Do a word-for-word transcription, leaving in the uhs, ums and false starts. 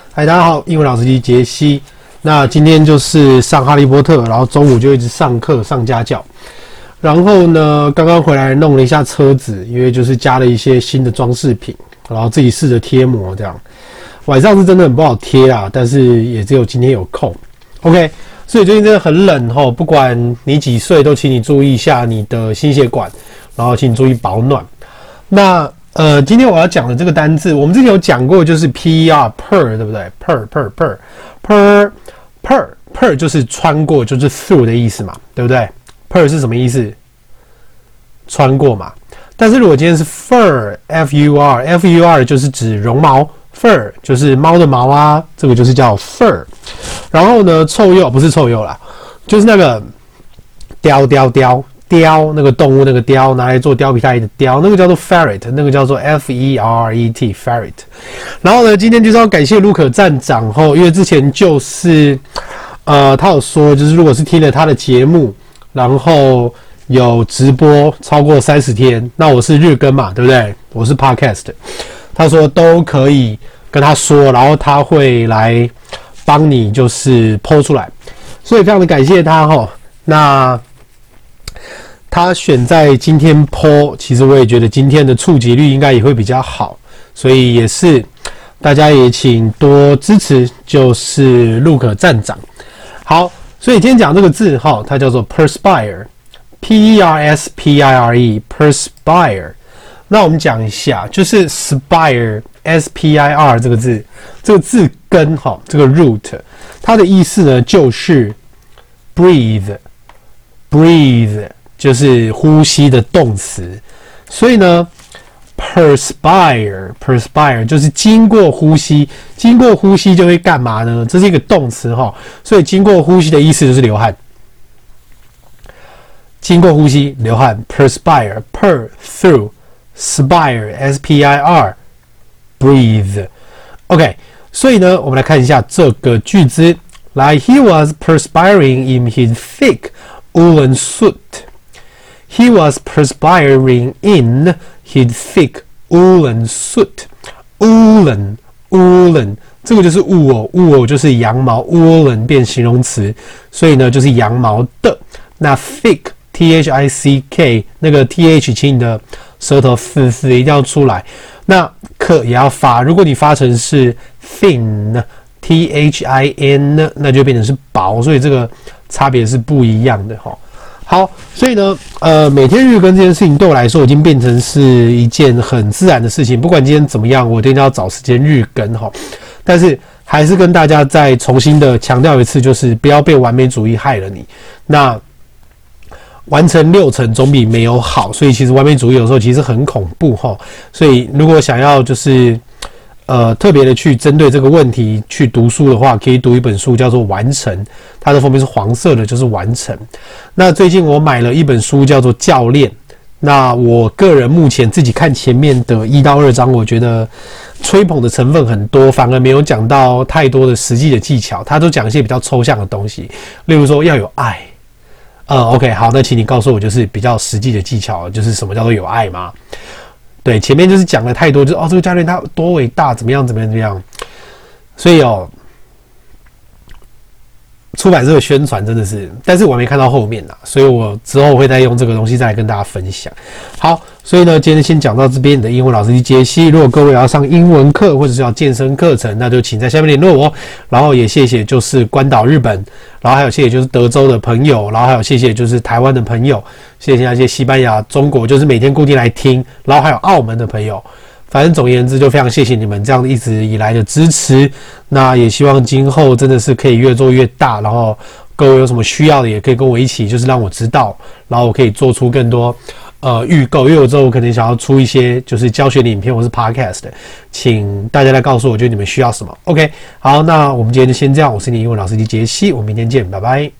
嗨，大家好，英文老師機傑西。那今天就是上哈利波特，然後中午就一直上課上家教。然後呢，剛剛回來弄了一下車子，因為就是加了一些新的裝飾品，然後自己試着貼膜這樣。晚上是真的很不好貼啊，但是也只有今天有空。OK， 所以最近真的很冷齁，不管你幾歲，都請你注意一下你的心血管，然後請你注意保暖。那呃，今天我要講的這個單字，我們之前有講過，就是 P E R per， 對不對 ？per per per per per per 就是穿過，就是 through 的意思嘛，對不對 ？per 是什麼意思？穿過嘛。但是如果今天是 fur f u r f u r 就是指絨毛 ，fur 就是貓的毛啊，這個就是叫 fur。然後呢，臭鼬不是臭鼬啦，就是那個雕雕雕。貂那個動物那個貂拿來做貂皮大衣的貂，那個叫做 ferret， 那個叫做 F E R E T ferret。然後呢，今天就是要感謝路可站長吼，因為之前就是呃他有說，就是如果是聽了他的節目，然後有直播超過三十天，那我是日更嘛，對不對？我是 podcast， 他說都可以跟他說，然後他會來幫你就是 po 出來，所以非常的感謝他吼。那他選在今天 po， 其實我也覺得今天的觸及率應該也會比較好，所以也是大家也請多支持，就是路可站長。好，所以今天講這個字哈，它叫做 perspire，P E R S P I R E，perspire。那我們講一下，就是 spire，S P I R 這個字，這個字根哈，這個 root， 它的意思呢就是 breathe，breathe。就是呼吸的動詞，所以呢 ，perspire perspire 就是經過呼吸，經過呼吸就會幹嘛呢？這是一個動詞哈，所以經過呼吸的意思就是流汗。經過呼吸流汗 ，perspire per through spire S P I R breathe。OK， 所以呢，我們來看一下這個句子。來 ，He was perspiring in his thick woolen suit。He was perspiring in his thick woolen suit. Woolen, woolen， 這個就是 wool， wool 就是羊毛 ，woolen 變形容詞，所以呢就是羊毛的。那 thick, t h i c k， 那個 th， 請你的舌頭嘶嘶一定要出來。那可也要發，如果你發成是 thin, t h i n， 那就變成是薄，所以這個差別是不一樣的哈。好，所以呢，呃，每天日更這件事情對我來說已經變成是一件很自然的事情。不管今天怎麼樣，我一定要找時間日更哈。但是還是跟大家再重新的強調一次，就是不要被完美主義害了你。那完成六成總比沒有好，所以其實完美主義有時候其實很恐怖哈。所以如果想要就是呃，特別的去針對這個問題去讀書的話，可以讀一本書叫做《完成》，它的封面是黃色的，就是完成。那最近我買了一本書叫做《教練》，那我個人目前自己看前面的一到二章，我覺得吹捧的成分很多，反而沒有講到太多的實際的技巧，它都講一些比較抽象的東西，例如說要有愛。呃 ，OK， 好，那請你告訴我，就是比較實際的技巧，就是什麼叫做有愛嗎？對，前面就是講了太多，就是哦，這個教練他多偉大，怎麼樣，怎麼樣，怎麼樣。所以哦，出版社的宣傳真的是，但是我還沒看到後面啦，所以我之後會再用這個東西再來跟大家分享。好，所以呢，今天先講到這邊。你的英文老師機傑西，如果各位要上英文課或者是要健身課程，那就請在下面聯絡我。然後也謝謝就是關島日本，然後還有謝謝就是德州的朋友，然後還有謝謝就是台灣的朋友，謝謝那些西班牙、中國就是每天固定來聽，然後還有澳門的朋友。反正總而言之，就非常謝謝你們這樣一直以來的支持。那也希望今後真的是可以越做越大，然後各位有什麼需要的，也可以跟我一起，就是讓我知道，然後我可以做出更多呃預購。因為有時候我可能想要出一些就是教學的影片或是 podcast 的，請大家來告訴我，覺得你們需要什麼。OK， 好，那我們今天就先這樣。我是你英文老師機傑西，我們明天見，拜拜。